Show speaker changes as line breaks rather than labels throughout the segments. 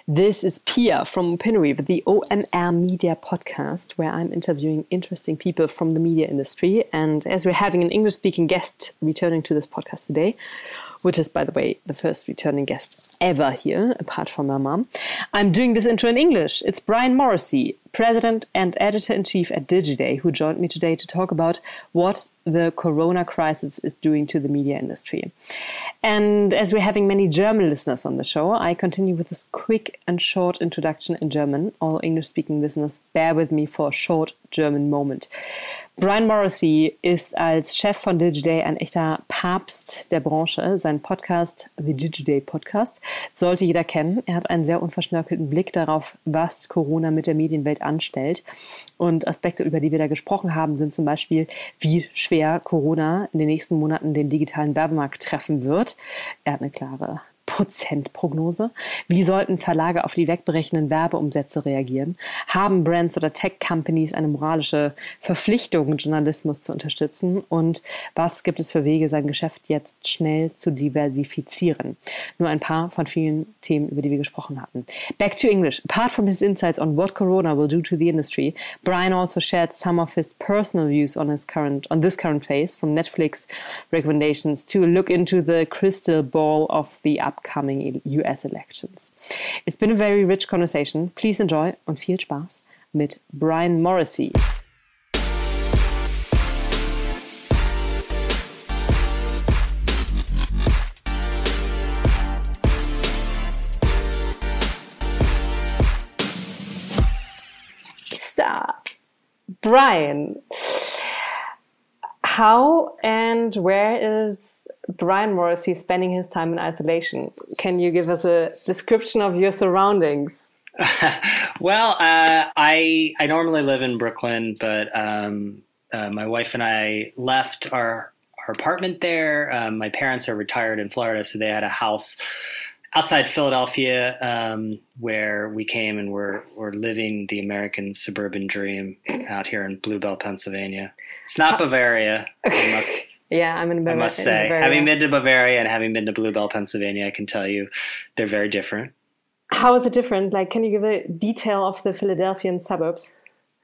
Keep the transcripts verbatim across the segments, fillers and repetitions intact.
This is Pia from Opinory, the O N R Media podcast, where I'm interviewing interesting people from the media industry. And as we're having an English-speaking guest returning to this podcast today, which is, by the way, the first returning guest ever here, apart from my mom, I'm doing this intro in English. It's Brian Morrissey, president and editor-in-chief at Digiday, who joined me today to talk about what the corona crisis is doing to the media industry. And as we're having many German listeners on the show, I continue with this quick and short introduction in German. All English-speaking listeners, bear with me for a short German moment. Brian Morrissey ist als Chef von Digiday ein echter Papst der Branche. Sein Podcast, The Digiday Podcast, sollte jeder kennen. Er hat einen sehr unverschnörkelten Blick darauf, was Corona mit der Medienwelt anstellt. Und Aspekte, über die wir da gesprochen haben, sind zum Beispiel, wie schwer Corona in den nächsten Monaten den digitalen Werbemarkt treffen wird. Er hat eine klare Prozentprognose. Wie sollten Verlage auf die wegbrechenden Werbeumsätze reagieren? Haben Brands oder Tech-Companies eine moralische Verpflichtung, Journalismus zu unterstützen? Und was gibt es für Wege, sein Geschäft jetzt schnell zu diversifizieren? Nur ein paar von vielen Themen, über die wir gesprochen hatten. Back to English. Apart from his insights on what Corona will do to the industry, Brian also shared some of his personal views on his current, on this current phase, from Netflix recommendations to a look into the crystal ball of the upcoming Coming U S elections. It's been a very rich conversation. Please enjoy und viel Spaß mit Brian Morrissey. Stop. Brian, how and where is Brian Morrissey spending his time in isolation? Can you give us a description of your surroundings?
well, uh, I I normally live in Brooklyn, but um, uh, my wife and I left our our apartment there. Um, my parents are retired in Florida, so they had a house outside Philadelphia um, where we came and we're we're living the American suburban dream out here in Bluebell, Pennsylvania. It's not Bavaria. I must.
Yeah, I'm in Bavaria.
I must say, having been to Bavaria and having been to Bluebell, Pennsylvania, I can tell you they're very different.
How is it different? Like, can you give a detail of the Philadelphian suburbs?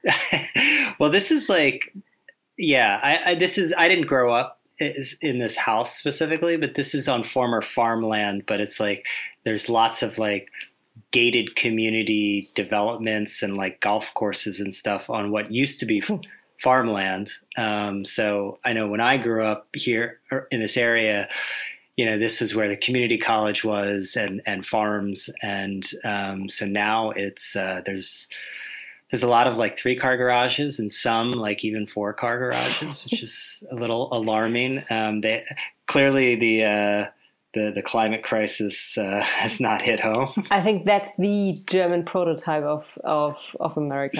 well, this is like, yeah, I, I this is, I didn't grow up in this house specifically, but this is on former farmland, but it's like, there's lots of like gated community developments and like golf courses and stuff on what used to be farmland. Um, so I know when I grew up here in this area, you know, this was where the community college was and, and farms. And um, so now it's, uh, there's, there's a lot of like three car garages and some like even four car garages, which is a little alarming. Um, they clearly the, uh, the, the climate crisis uh, has not hit home.
I think that's the German prototype of, of, of America.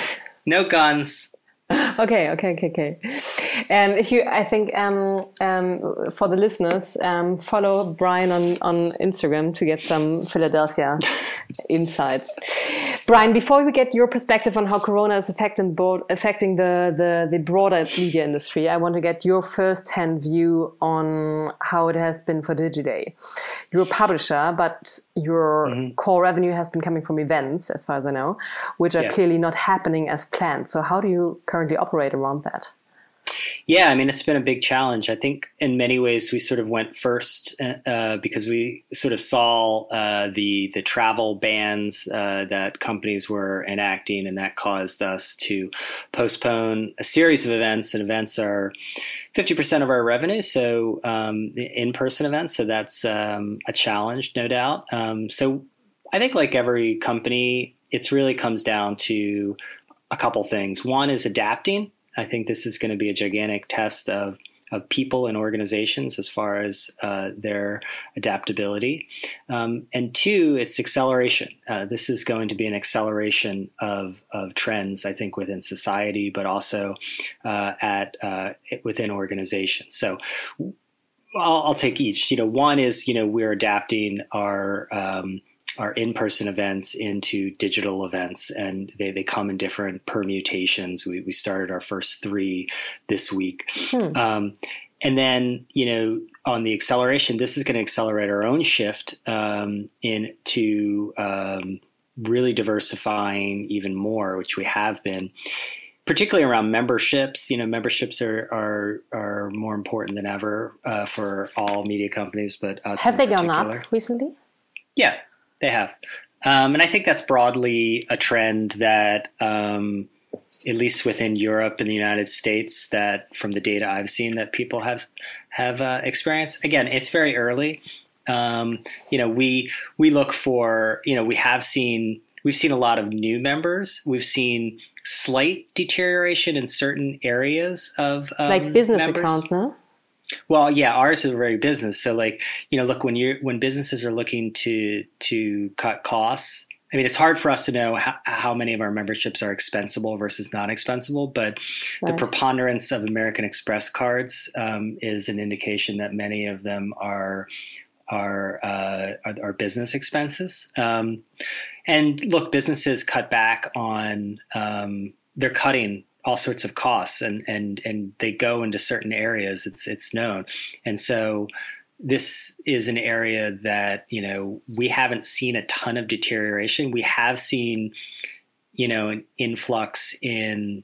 No guns.
Okay, okay, okay, okay. Um, if you, I think um, um, for the listeners, um, follow Brian on, on Instagram to get some Philadelphia insights. Brian, before we get your perspective on how Corona is affecting, board, affecting the, the, the broader media industry, I want to get your first-hand view on how it has been for Digiday. You're a publisher, but your mm-hmm. core revenue has been coming from events, as far as I know, which are yeah. clearly not happening as planned. So how do you currently operate around that?
Yeah, I mean, it's been a big challenge. I think in many ways we sort of went first uh, because we sort of saw uh, the the travel bans uh, that companies were enacting, and that caused us to postpone a series of events. And events are fifty percent of our revenue, so um, in-person events. So that's um, a challenge, no doubt. Um, so I think like every company, it really comes down to a couple things. One is adapting. I think this is going to be a gigantic test of of people and organizations as far as uh, their adaptability. Um, and two, it's acceleration. Uh, this is going to be an acceleration of of trends, I think, within society, but also uh, at uh, within organizations. So I'll, I'll take each. You know, one is, you know, we're adapting our um, our in-person events into digital events, and they, they come in different permutations. We we started our first three this week. Hmm. Um, and then, you know, on the acceleration, this is going to accelerate our own shift um, into um, really diversifying even more, which we have been, particularly around memberships. You know, memberships are are, are more important than ever uh, for all media companies, but us
have
in
they
particular.
gone up recently?
Yeah, they have. Um, and I think that's broadly a trend that, um, at least within Europe and the United States, that from the data I've seen, that people have have uh, experienced. Again, it's very early. Um, you know, we we look for, you know, we have seen, we've seen a lot of new members. We've seen slight deterioration in certain areas of um,
like business
members.
accounts, no?
Well, yeah, ours is very business. So, like, you know, look, when you when businesses are looking to to cut costs, I mean, it's hard for us to know how, how many of our memberships are expensible versus non-expensible, but right. the preponderance of American Express cards um, is an indication that many of them are are uh, are, are business expenses. Um, and look, businesses cut back on um, they're cutting all sorts of costs, and and and they go into certain areas. It's it's known, and so this is an area that, you know, we haven't seen a ton of deterioration. We have seen, you know, an influx in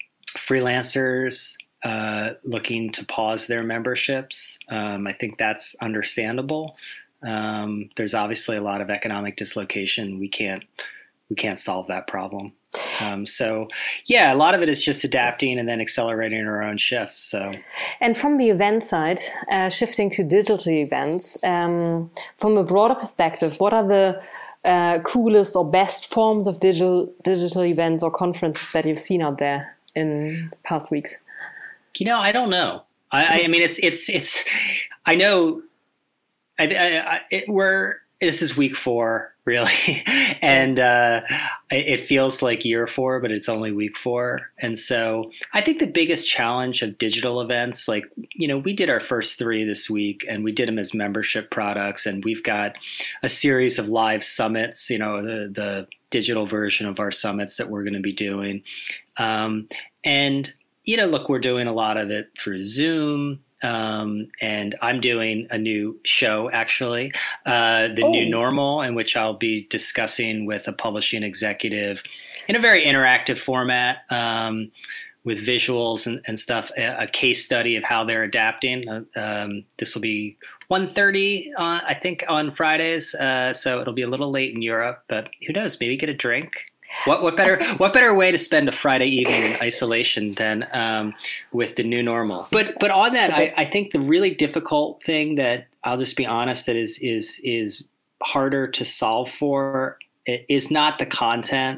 freelancers uh, looking to pause their memberships. Um, I think that's understandable. Um, there's obviously a lot of economic dislocation. We can't we can't solve that problem. Um, so, yeah, a lot of it is just adapting and then accelerating our own shifts. So,
and from the event side, uh, shifting to digital events, um, from a broader perspective, what are the uh, coolest or best forms of digital digital events or conferences that you've seen out there in the past weeks?
You know, I don't know. I, I mean, it's it's it's. I know. I, I, I it, we're. This is week four, really, and uh, it feels like year four, but it's only week four. And so I think the biggest challenge of digital events, like, you know, we did our first three this week, and we did them as membership products, and we've got a series of live summits, you know, the, the digital version of our summits that we're going to be doing. Um, and, you know, look, we're doing a lot of it through Zoom. Um, and I'm doing a new show, actually, uh, The oh. New Normal, in which I'll be discussing with a publishing executive in a very interactive format um, with visuals and, and stuff, a, a case study of how they're adapting. Uh, um, this will be one thirty, uh, I think, on Fridays. Uh, so it'll be a little late in Europe, but who knows? Maybe get a drink. What what better what better way to spend a Friday evening in isolation than um, with the new normal? But but on that, I, I think the really difficult thing that I'll just be honest that is is is harder to solve for is not the content.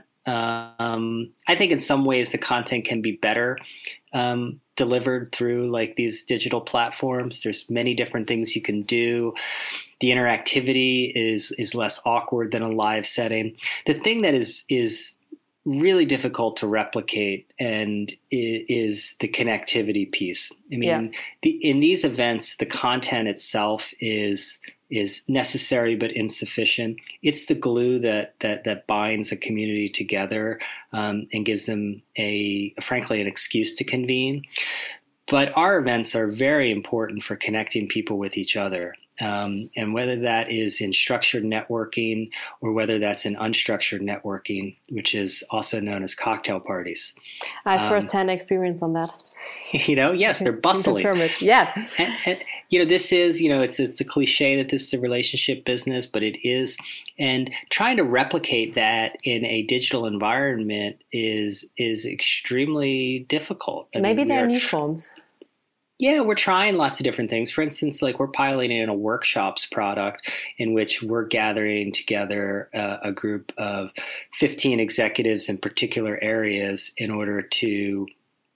Um, I think in some ways the content can be better um, delivered through like these digital platforms. There's many different things you can do. The interactivity is is less awkward than a live setting. The thing that is is really difficult to replicate and is the connectivity piece. I mean, yeah. the, in these events, the content itself is is necessary but insufficient. It's the glue that that that binds a community together um, and gives them a, frankly, an excuse to convene. But our events are very important for connecting people with each other. Um, and whether that is in structured networking or whether that's in unstructured networking, which is also known as cocktail parties.
I have first-hand um, experience on that.
You know, yes, they're bustling.
Yeah.
And, and, you know, this is, you know, it's it's a cliche that this is a relationship business, but it is. And trying to replicate that in a digital environment is is extremely difficult. I
Maybe
mean,
there are
are,
new forms.
Yeah, we're trying lots of different things. For instance, like we're piloting in a workshops product in which we're gathering together uh, a group of fifteen executives in particular areas in order to,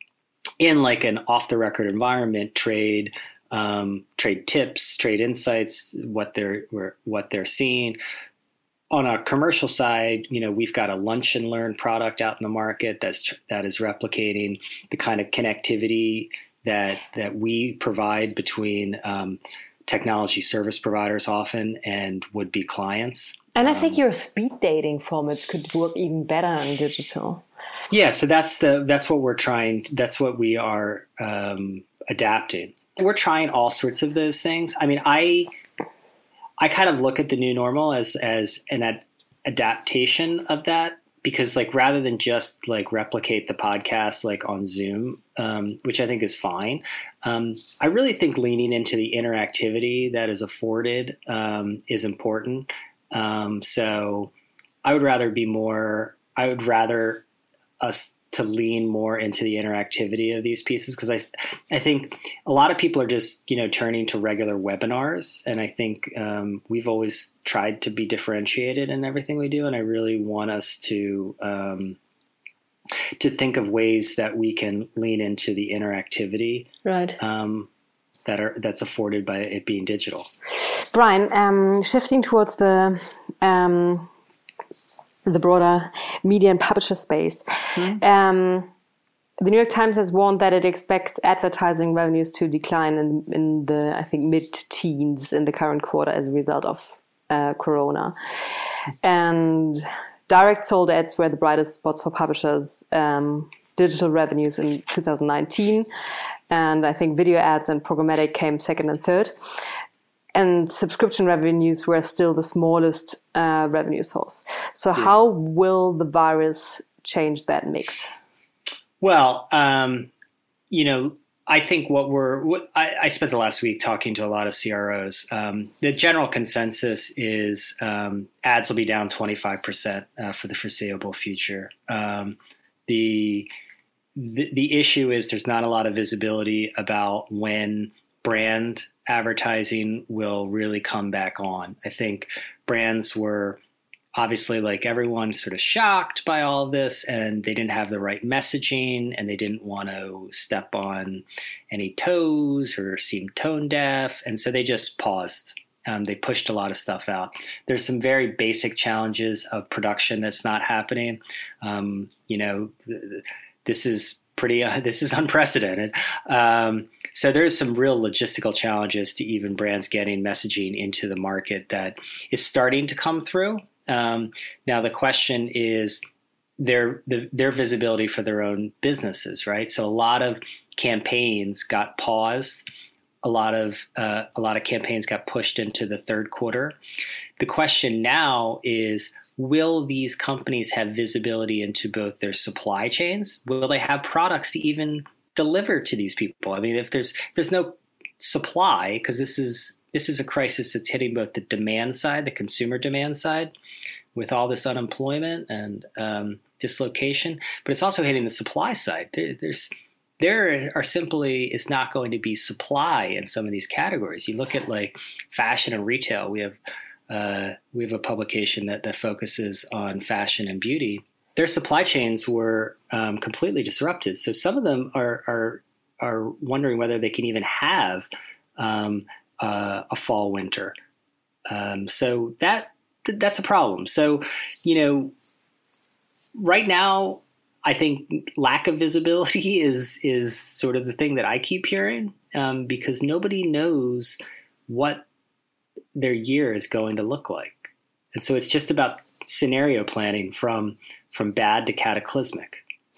in like an off-the-record environment, trade um, trade tips, trade insights, what they're what they're seeing. On a commercial side, you know, we've got a lunch and learn product out in the market that's that is replicating the kind of connectivity that that we provide between um, technology service providers often and would-be clients.
And I think um, your speed dating formats could work even better in digital.
Yeah, so that's the that's what we're trying. That's what we are um, adapting. we're trying all sorts of those things. I mean, I I kind of look at the new normal as as an ad- adaptation of that, because like rather than just like replicate the podcast like on Zoom, um, which I think is fine, um, I really think leaning into the interactivity that is afforded um, is important. Um, so I would rather be more. I would rather us to lean more into the interactivity of these pieces, because I, I think a lot of people are just, you know, turning to regular webinars, and I think um, we've always tried to be differentiated in everything we do, and I really want us to um, to think of ways that we can lean into the interactivity,
right?
Um, that are that's afforded by it being digital.
Brian, um, shifting towards the um, the broader media and publisher space. Mm-hmm. Um, the New York Times has warned that it expects advertising revenues to decline in, in the, I think, mid-teens in the current quarter as a result of uh, Corona. And direct sold ads were the brightest spots for publishers, um, digital revenues in two thousand nineteen. And I think video ads and programmatic came second and third. And subscription revenues were still the smallest uh, revenue source. So yeah. How will the virus change that mix?
Well, um, you know, I think what we're, what I, I spent the last week talking to a lot of C R Os. Um, the general consensus is um, ads will be down twenty-five percent uh, for the foreseeable future. Um, the, the the issue is there's not a lot of visibility about when brand advertising will really come back on. I think brands were obviously, like everyone, sort of shocked by all of this, and they didn't have the right messaging, and they didn't want to step on any toes or seem tone deaf, and so they just paused. Um, they pushed a lot of stuff out. There's some very basic challenges of production that's not happening. Um, you know, th- this is pretty. Uh, this is unprecedented. Um, So there's some real logistical challenges to even brands getting messaging into the market that is starting to come through. Um, now the question is their the, their visibility for their own businesses, right? So a lot of campaigns got paused. A lot of uh, a lot of campaigns got pushed into the third quarter. The question now is, will these companies have visibility into both their supply chains? Will they have products to even deliver to these people? I mean, if there's there's no supply, because this is this is a crisis that's hitting both the demand side, the consumer demand side, with all this unemployment and um, dislocation, but it's also hitting the supply side. There, there's there are simply is not going to be supply in some of these categories. You look at like fashion and retail. We have uh, we have a publication that that focuses on fashion and beauty. Their supply chains were um, completely disrupted. So some of them are are are wondering whether they can even have um, uh, a fall winter. Um, so that th- that's a problem. So, you know, right now, I think lack of visibility is is sort of the thing that I keep hearing, um, because nobody knows what their year is going to look like. And so it's just about scenario planning from from bad to cataclysmic.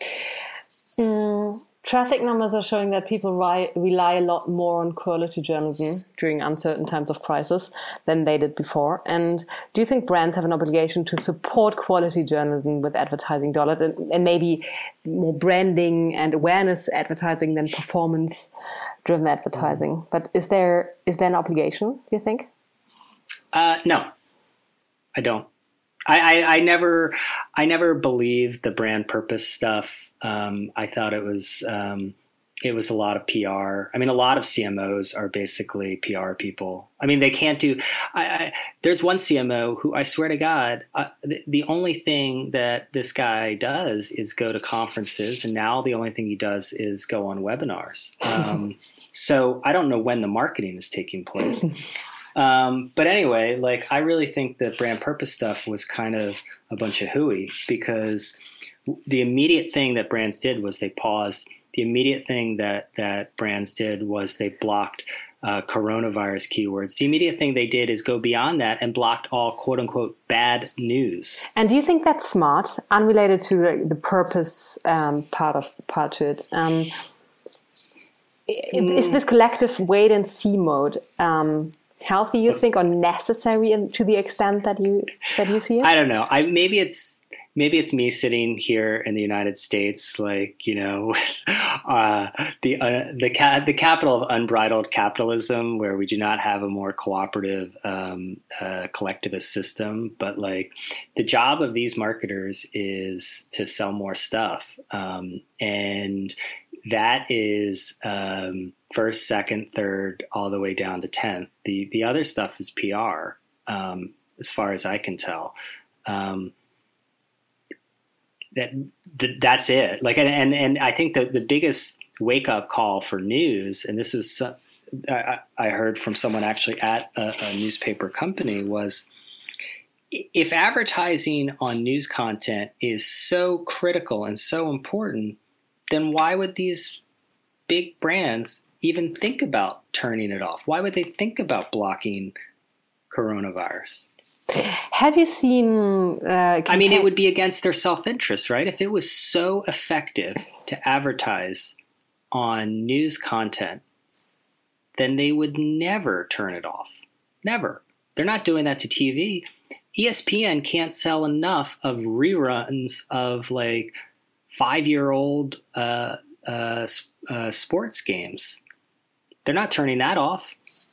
Mm, traffic numbers are showing that people ri- rely a lot more on quality journalism during uncertain times of crisis than they did before. And do you think brands have an obligation to support quality journalism with advertising dollars and, and maybe more branding and awareness advertising than performance-driven advertising? Mm. But is there is there an obligation, do you think?
Uh, no, I don't. I, I, I never, I never believed the brand purpose stuff. Um, I thought it was, um, it was a lot of P R. I mean, a lot of C M Os are basically P R people. I mean, they can't do. I, I, there's one C M O who I swear to God, uh, the, the only thing that this guy does is go to conferences, and now the only thing he does is go on webinars. Um, so I don't know when the marketing is taking place. Um, but anyway, like I really think that brand purpose stuff was kind of a bunch of hooey, because the immediate thing that brands did was they paused. The immediate thing that, that brands did was they blocked uh, coronavirus keywords. The immediate thing they did is go beyond that and blocked all quote unquote bad news.
And do you think that's smart, unrelated to the, the purpose um, part of part to it? Um, mm. is this collective wait and see mode um, healthy, you think, or necessary in, to the extent that you that you see it?
I don't know. I maybe it's maybe it's me sitting here in the United States, like, you know, uh, the uh, the ca- the capital of unbridled capitalism, where we do not have a more cooperative um, uh, collectivist system. But like, the job of these marketers is to sell more stuff, um, and that is um, first, second, third, all the way down to tenth. The the other stuff is P R, um, as far as I can tell. Um, that, that that's it. Like, and and, and I think that the biggest wake up call for news, and this was I, I heard from someone actually at a, a newspaper company, was if advertising on news content is so critical and so important, then why would these big brands even think about turning it off? Why would they think about blocking coronavirus?
Have you seen... Uh,
I mean, it would be against their self-interest, right? If it was so effective to advertise on news content, then they would never turn it off. Never. They're not doing that to T V. E S P N can't sell enough of reruns of like five-year-old uh, uh, uh, sports games. They're not turning that off.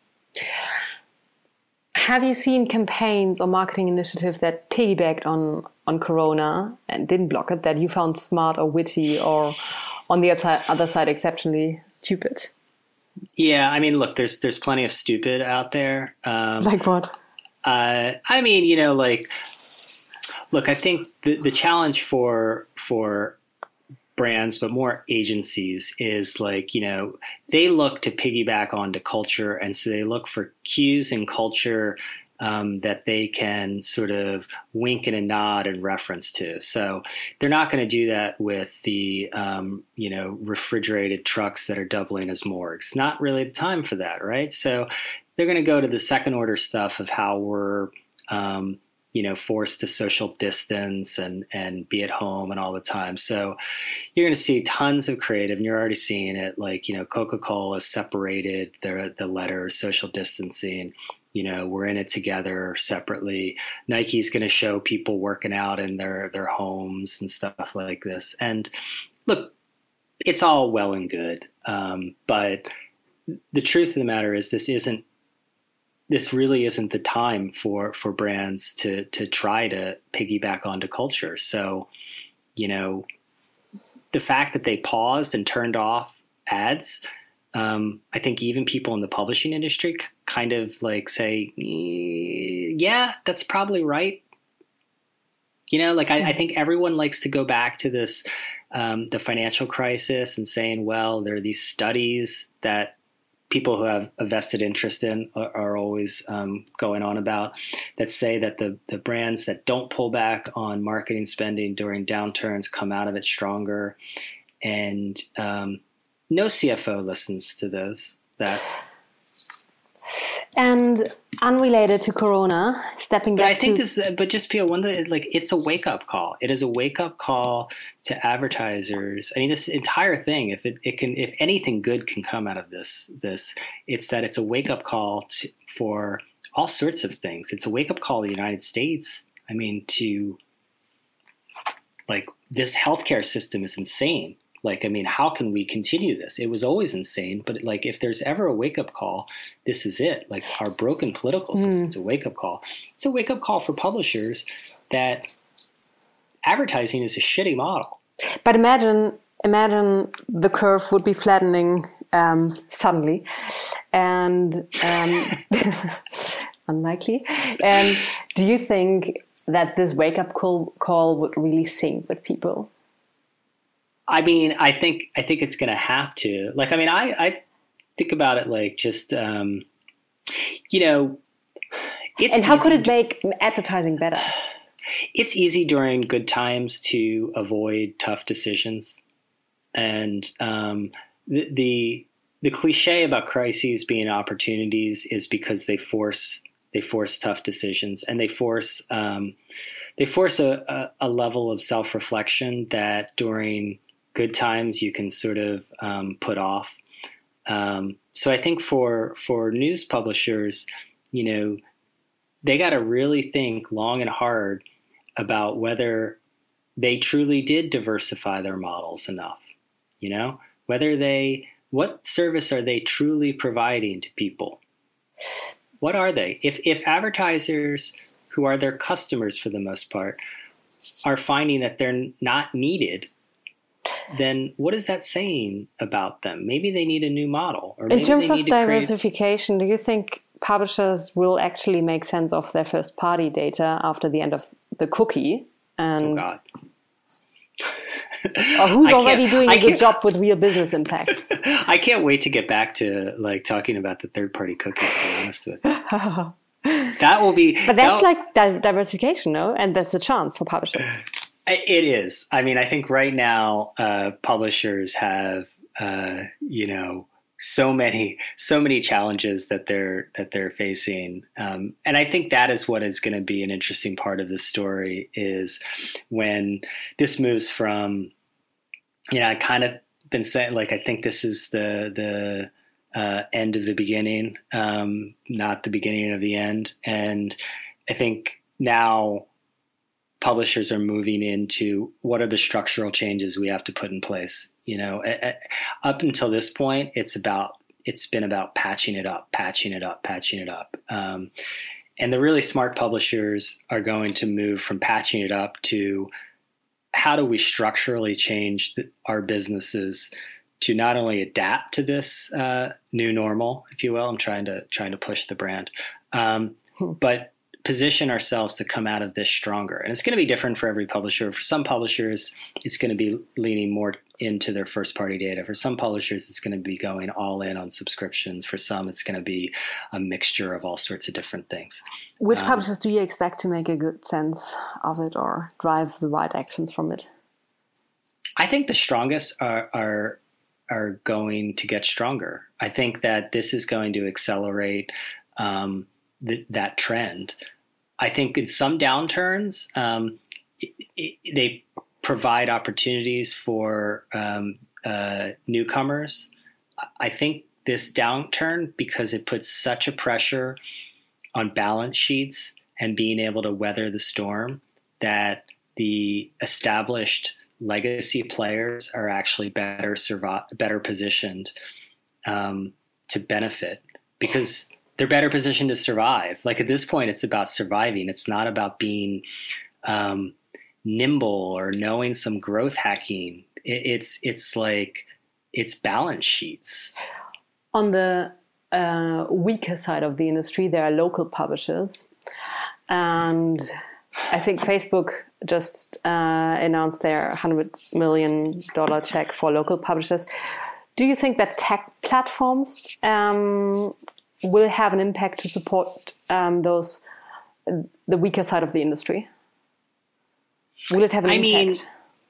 Have you seen campaigns or marketing initiatives that piggybacked on, on Corona and didn't block it, that you found smart or witty, or on the other side exceptionally stupid?
Yeah, I mean, look, there's there's plenty of stupid out there. Um,
like what?
Uh, I mean, you know, like, look, I think the, the challenge for for brands, but more agencies, is like, you know, they look to piggyback onto culture. And so they look for cues in culture um, that they can sort of wink and a nod and reference to. So they're not going to do that with the, um, you know, refrigerated trucks that are doubling as morgues. Not really the time for that, right? So they're going to go to the second order stuff of how we're, um, you know, forced to social distance and, and be at home and all the time. So you're going to see tons of creative, and you're already seeing it. Like, you know, Coca-Cola separated the, the letters, social distancing. You know, we're in it together separately. Nike's going to show people working out in their, their homes and stuff like this. And look, it's all well and good. Um, but the truth of the matter is this isn't, this really isn't the time for, for brands to, to try to piggyback onto culture. So, you know, the fact that they paused and turned off ads, um, I think even people in the publishing industry c- kind of like say, yeah, that's probably right. You know, like I, I think everyone likes to go back to this, um, the financial crisis and saying, well, there are these studies that people who have a vested interest in are, are always um, going on about, that say that the, the brands that don't pull back on marketing spending during downturns come out of it stronger. And um, no C F O listens to those. That.
And unrelated to Corona, stepping back
but I think
to...
this, but just Pia, one that like it's a wake up call. It is a wake up call to advertisers. I mean, this entire thing, if it, it can, if anything good can come out of this, this, it's that it's a wake up call to, for all sorts of things. It's a wake up call to the United States. I mean, to like, this healthcare system is insane. Like, I mean, how can we continue this? It was always insane, but like, if there's ever a wake-up call, this is it. Like, our broken political system, mm. it's a wake-up call. It's a wake-up call for publishers that advertising is a shitty model.
But imagine, imagine the curve would be flattening um, suddenly, and um, unlikely. And do you think that this wake-up call, call would really sink with people?
I mean, I think I think it's going to have to. Like, I mean, I, I think about it like just, um, you know, it's
and how could it
to,
make advertising better?
It's easy during good times to avoid tough decisions, and um, the, the the cliche about crises being opportunities is because they force they force tough decisions, and they force um, they force a, a, a level of self-reflection that during good times you can sort of um, put off. Um, so I think for for news publishers, you know, they got to really think long and hard about whether they truly did diversify their models enough, you know, whether they, what service are they truly providing to people? What are they? If, if advertisers who are their customers for the most part are finding that they're not needed, then what is that saying about them? Maybe they need a new model. Or maybe
in terms
they
of
need to create...
diversification, do you think publishers will actually make sense of their first party data after the end of the cookie? And
oh God.
or who's already doing a good job with real business impact?
I can't wait to get back to like talking about the third party cookie, to be honest with you. That will be
But that's like di- diversification, no? And that's a chance for publishers.
It is. I mean, I think right now uh, publishers have uh, you know, so many, so many challenges that they're that they're facing, um, and I think that is what is going to be an interesting part of this story is when this moves from, you know, I kind of been saying like I think this is the the uh, end of the beginning, um, not the beginning of the end, and I think now publishers are moving into what are the structural changes we have to put in place. You know, up until this point, it's about it's been about patching it up, patching it up, patching it up. Um, and the really smart publishers are going to move from patching it up to how do we structurally change the, our businesses to not only adapt to this uh, new normal, if you will. I'm trying to trying to push the brand, um, hmm. but position ourselves to come out of this stronger. And it's going to be different for every publisher. For some publishers, it's going to be leaning more into their first party data. For some publishers, it's going to be going all in on subscriptions. For some, it's going to be a mixture of all sorts of different things.
Which
um,
publishers do you expect to make a good sense of it or drive the right actions from it?
I think the strongest are, are, are going to get stronger. I think that this is going to accelerate um, th- that trend. I think in some downturns, um, it, it, they provide opportunities for um, uh, newcomers. I think this downturn, because it puts such a pressure on balance sheets and being able to weather the storm, that the established legacy players are actually better survive, better positioned um, to benefit because they're better positioned to survive. Like at this point, it's about surviving. It's not about being um, nimble or knowing some growth hacking. It, it's it's like it's balance sheets.
On the uh, weaker side of the industry, there are local publishers, and I think Facebook just uh, announced their one hundred million dollars check for local publishers. Do you think that tech platforms um, will have an impact to support um, those the weaker side of the industry? Will it have an
I
impact?
mean,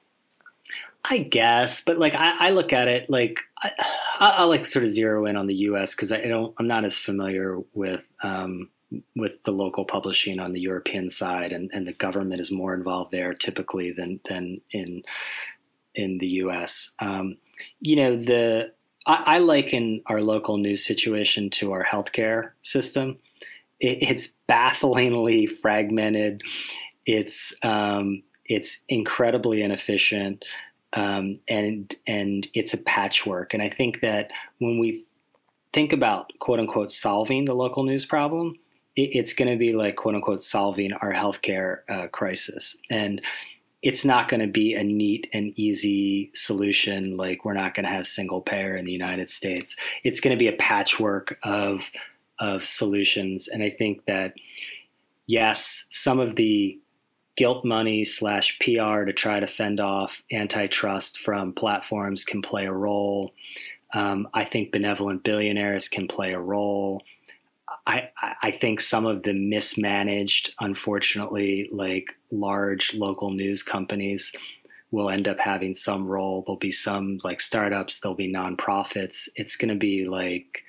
I guess, but like I, I look at it like I, I'll like sort of zero in on the U S because I don't I'm not as familiar with um, with the local publishing on the European side, and, and the government is more involved there typically than than in in the U S. Um, you know, the I, I liken our local news situation to our healthcare system. It, it's bafflingly fragmented. It's um, it's incredibly inefficient, um, and and it's a patchwork. And I think that when we think about quote unquote solving the local news problem, it, it's going to be like quote unquote solving our healthcare uh, crisis. And it's not going to be a neat and easy solution. Like we're not going to have single payer in the United States. It's going to be a patchwork of of solutions. And I think that yes, some of the guilt money slash P R to try to fend off antitrust from platforms can play a role. Um, I think benevolent billionaires can play a role. I, I think some of the mismanaged, unfortunately, like large local news companies will end up having some role. There'll be some like startups, there'll be nonprofits. It's going to be like,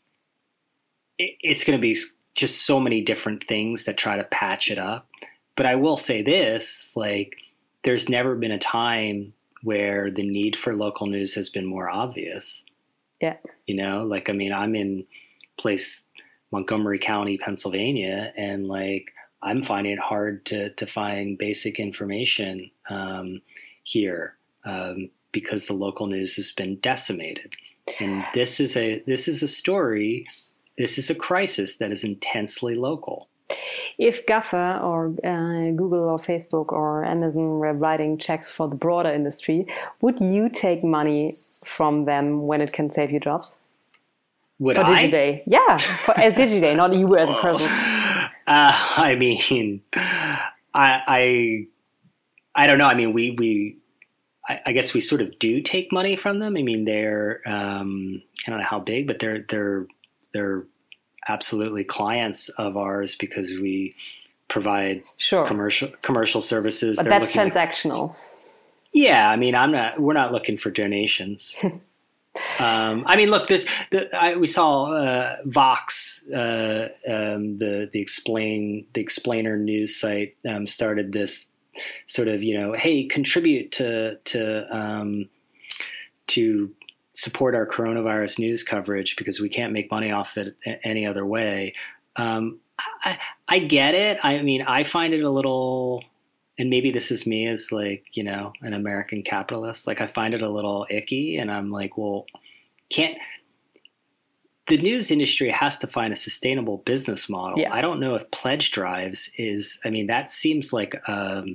it, it's going to be just so many different things that try to patch it up. But I will say this, like there's never been a time where the need for local news has been more obvious.
Yeah.
You know, like, I mean, I'm in place Montgomery County, Pennsylvania, and like I'm finding it hard to to find basic information um, here um, because the local news has been decimated. And this is a this is a story. This is a crisis that is intensely local.
If GAFA or uh, Google or Facebook or Amazon were writing checks for the broader industry, would you take money from them when it can save you jobs?
Would
for
I?
Digiday? Yeah, for, as Digiday, not you as a person.
Uh, I mean, I, I, I don't know. I mean, we, we, I, I guess we sort of do take money from them. I mean, they're, um, I don't know how big, but they're, they're, they're absolutely clients of ours because we provide
sure.
commercial, commercial services.
But
they're
that's transactional.
At, yeah. I mean, I'm not, we're not looking for donations. Um, I mean, look, this, the, I, we saw, uh, Vox, uh, um, the, the explain, the explainer news site, um, started this sort of, you know, hey, contribute to, to, um, to support our coronavirus news coverage because we can't make money off it any other way. Um, I, I get it. I mean, I find it a little, and maybe this is me as like, you know, an American capitalist. Like I find it a little icky and I'm like, well, can't, the news industry has to find a sustainable business model.
Yeah.
I don't know if pledge drives is, I mean, that seems like um,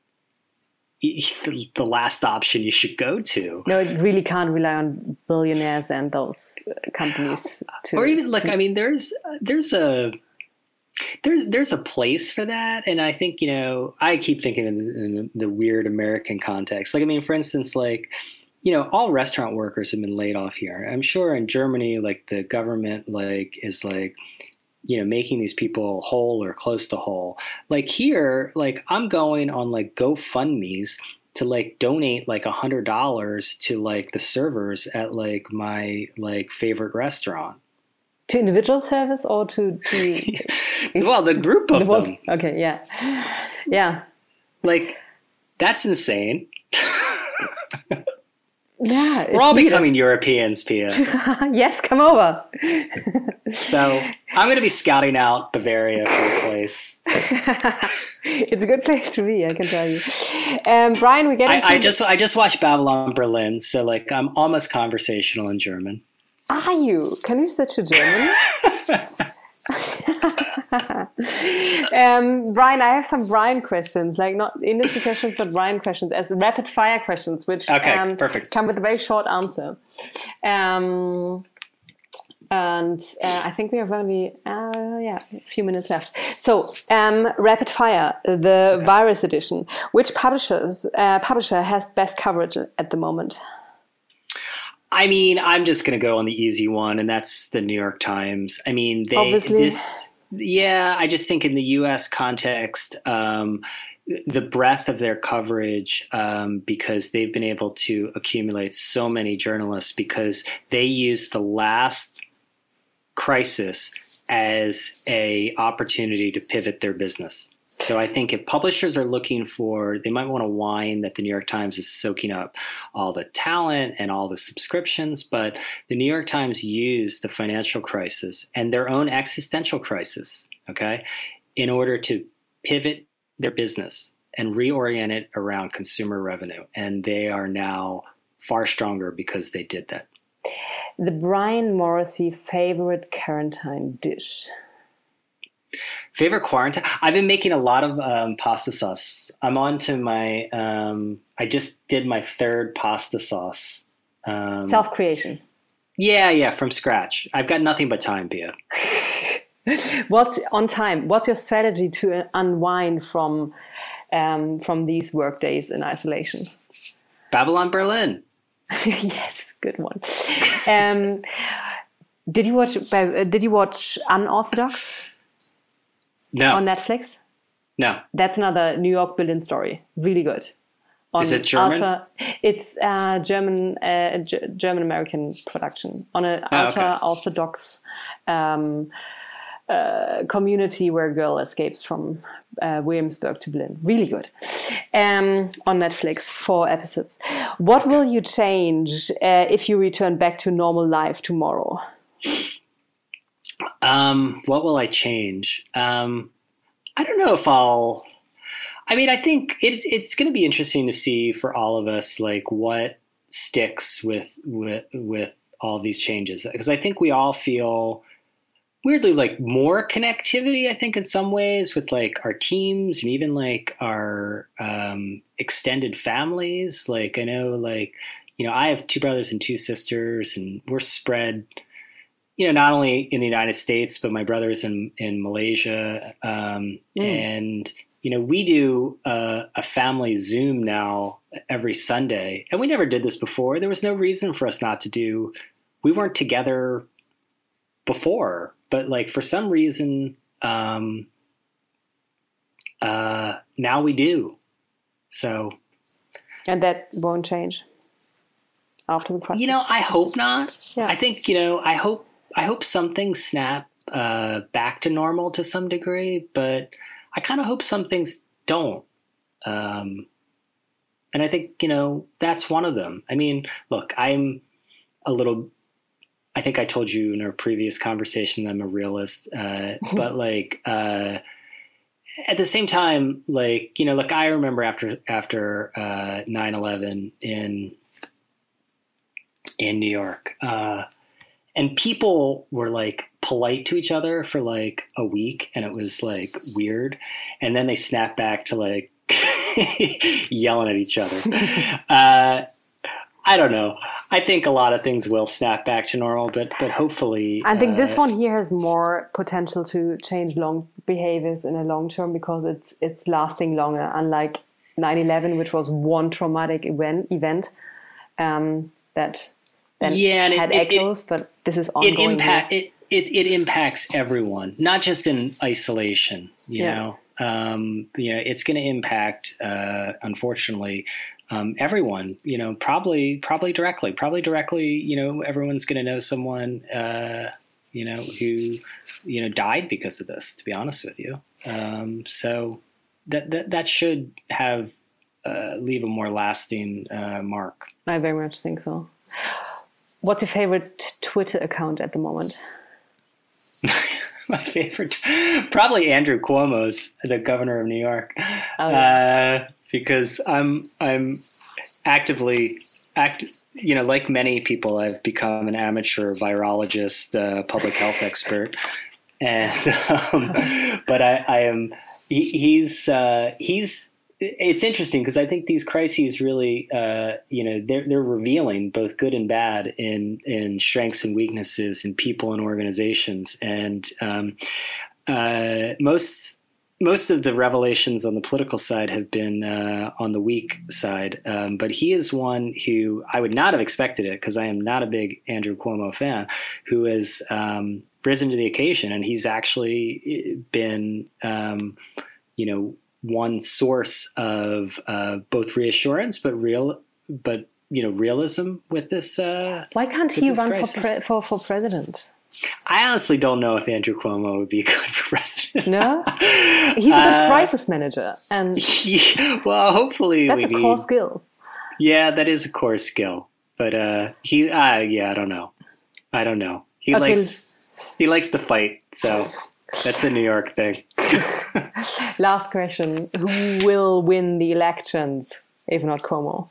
the last option you should go to.
No, it really can't rely on billionaires and those companies. To,
or even like,
to...
I mean, there's, there's a, There's there's a place for that, and I think, you know, I keep thinking in, in the weird American context. Like, I mean, for instance, like, you know, all restaurant workers have been laid off here. I'm sure in Germany, like the government, like is like, you know, making these people whole or close to whole. Like here, like I'm going on like GoFundMe's to like donate like a hundred dollars to like the servers at like my like favorite restaurant.
To individual service or to, to
well, the group of
the
them.
Okay, yeah. Yeah.
Like, that's insane.
Yeah.
We're all becoming Europeans, Pia.
Yes, come over.
So I'm going to be scouting out Bavaria for a place.
It's a good place to be, I can tell you. Um, Brian, we get
I, I just I just watched Babylon Berlin, so like I'm almost conversational in German.
Are you? Can you switch to German? um, Brian, I have some Brian questions, like not industry questions, but Brian questions as rapid fire questions, which
okay,
um,
perfect.
come with a very short answer. Um, and uh, I think we have only uh, yeah a few minutes left. So um, rapid fire, the okay. virus edition. Which publishers uh, publisher has best coverage at the moment?
I mean, I'm just going to go on the easy one, and that's the New York Times. I mean, they,
Obviously.
This, yeah, I just think in the U S context, um, the breadth of their coverage, um, because they've been able to accumulate so many journalists because they used the last crisis as a opportunity to pivot their business. So I think if publishers are looking for, they might want to whine that the New York Times is soaking up all the talent and all the subscriptions, but the New York Times used the financial crisis and their own existential crisis, okay, in order to pivot their business and reorient it around consumer revenue. And they are now far stronger because they did that.
The Brian Morrissey favorite quarantine dish?
Favorite quarantine? I've been making a lot of um, pasta sauce. I'm on to my, um, I just did my third pasta sauce. Um,
Self-creation.
Yeah, yeah, from scratch. I've got nothing but time, Pia.
What's on time? What's your strategy to unwind from um, from these work days in isolation?
Babylon Berlin.
Yes, good one. Um, did you watch? Uh, did you watch Unorthodox?
No.
On Netflix?
No.
That's another New York Berlin story. Really good. On
Is it German?
Ultra, it's a German, uh, G- German-American production on an
oh,
ultra-orthodox um, uh, community where a girl escapes from uh, Williamsburg to Berlin. Really good. Um, on Netflix, four episodes. What will you change uh, if you return back to normal life tomorrow?
Um, what will I change? Um, I don't know if I'll. I mean, I think it's it's going to be interesting to see for all of us, like what sticks with with with all these changes, because I think we all feel weirdly like more connectivity. I think in some ways with like our teams and even like our um, extended families. Like I know, like you know, I have two brothers and two sisters, and we're spread. You know, not only in the United States, but my brother's in in Malaysia, um, mm. and. You know, we do uh, a family Zoom now every Sunday, and we never did this before. There was no reason for us not to do. We weren't together before, but like for some reason, um, uh, now we do. So,
and that won't change after the practice.
You know, I hope not.
Yeah.
I think you know, I hope I hope some things snap uh, back to normal to some degree, but. I kind of hope some things don't. Um, and I think, you know, that's one of them. I mean, look, I'm a little, I think I told you in our previous conversation, I'm a realist, uh, but like, uh, at the same time, like, you know, look, I remember after, after, uh, nine eleven in, in New York, uh, and people were like polite to each other for like a week, and it was like weird. And then they snapped back to like yelling at each other. Uh, I don't know. I think a lot of things will snap back to normal, but but hopefully.
I think
uh,
this one here has more potential to change long behaviors in a long term because it's it's lasting longer. Unlike nine eleven, which was one traumatic event event um, that. Then
yeah, and
had
it,
echoes,
it,
but this is ongoing.
It, impact, it, it, it impacts everyone, not just in isolation, you yeah. know. Um, you know, it's going to impact, uh, unfortunately, um, everyone, you know, probably probably directly. Probably directly, you know, everyone's going to know someone, uh, you know, who, you know, died because of this, to be honest with you. Um, so that, that, that should have uh, leave a more lasting uh, mark.
I very much think so. What's your favorite Twitter account at the moment?
My favorite, probably Andrew Cuomo's, the governor of New York,
oh, yeah.
uh, because I'm I'm actively act. You know, like many people, I've become an amateur virologist, uh, public health expert, and um, but I, I am he, he's uh, he's. It's interesting because I think these crises really, uh, you know, they're, they're revealing both good and bad in, in strengths and weaknesses in people and organizations. And um, uh, most most of the revelations on the political side have been uh, on the weak side. Um, but he is one who I would not have expected it because I am not a big Andrew Cuomo fan, who has um, risen to the occasion. And he's actually been, um, you know, one source of uh, both reassurance, but real, but you know, realism with this. Uh,
Why can't he run for, pre- for for president?
I honestly don't know if Andrew Cuomo would be good for president.
No, he's a good uh, crisis manager, and
yeah, well, hopefully
that's
we
a
need,
core skill.
Yeah, that is a core skill, but uh, he, uh, yeah, I don't know, I don't know. He okay. likes he likes to fight, so. That's the New York thing.
Last question. Who will win the elections, if not Cuomo?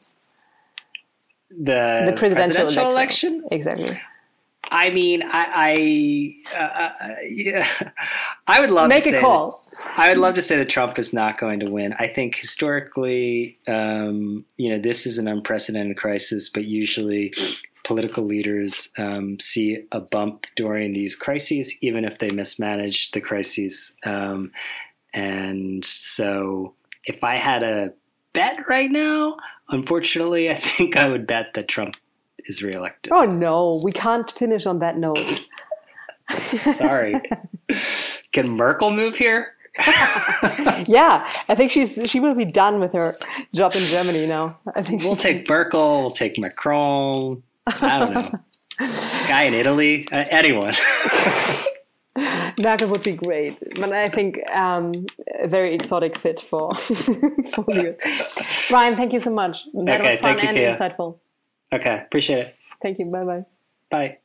The,
the presidential,
presidential
election.
election?
Exactly.
I mean, I I, uh, yeah. I would love
Make
to say
a call.
That, I would love to say that Trump is not going to win. I think historically, um, you know, this is an unprecedented crisis, but usually political leaders um, see a bump during these crises, even if they mismanage the crises. Um, and so if I had a bet right now, unfortunately, I think I would bet that Trump is reelected.
Oh, no, we can't finish on that note.
Sorry. Can Merkel move here?
Yeah, I think she's she will be done with her job in Germany now. I think
we'll take Merkel, we'll take Macron. I don't know. Guy in Italy, uh, anyone.
That would be great. But I think um, a very exotic fit for, for you. Brian, thank you so much. That
okay,
was fun
thank you,
and
Kia.
insightful.
Okay, appreciate it.
Thank you. Bye-bye.
Bye.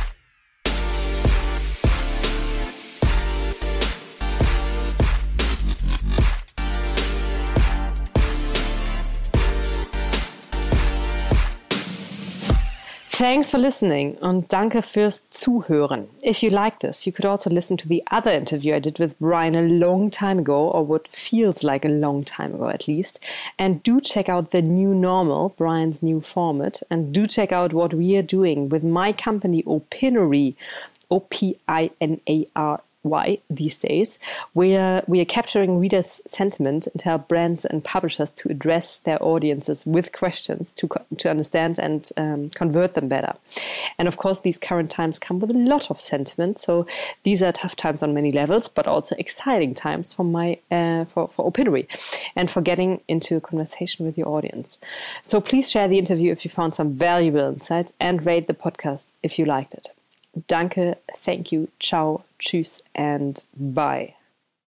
Thanks for listening und danke fürs Zuhören. If you like this, you could also listen to the other interview I did with Brian a long time ago, or what feels like a long time ago at least. And do check out The New Normal, Brian's new format. And do check out what we are doing with my company Opinory, O P I N A R Y these days. We are, we are capturing readers' sentiment and help brands and publishers to address their audiences with questions to, to understand and um, convert them better. And of course, these current times come with a lot of sentiment. So these are tough times on many levels, but also exciting times for my uh, for, for Opinory and for getting into a conversation with your audience. So please share the interview if you found some valuable insights and rate the podcast if you liked it. Danke, thank you, ciao, tschüss, and bye.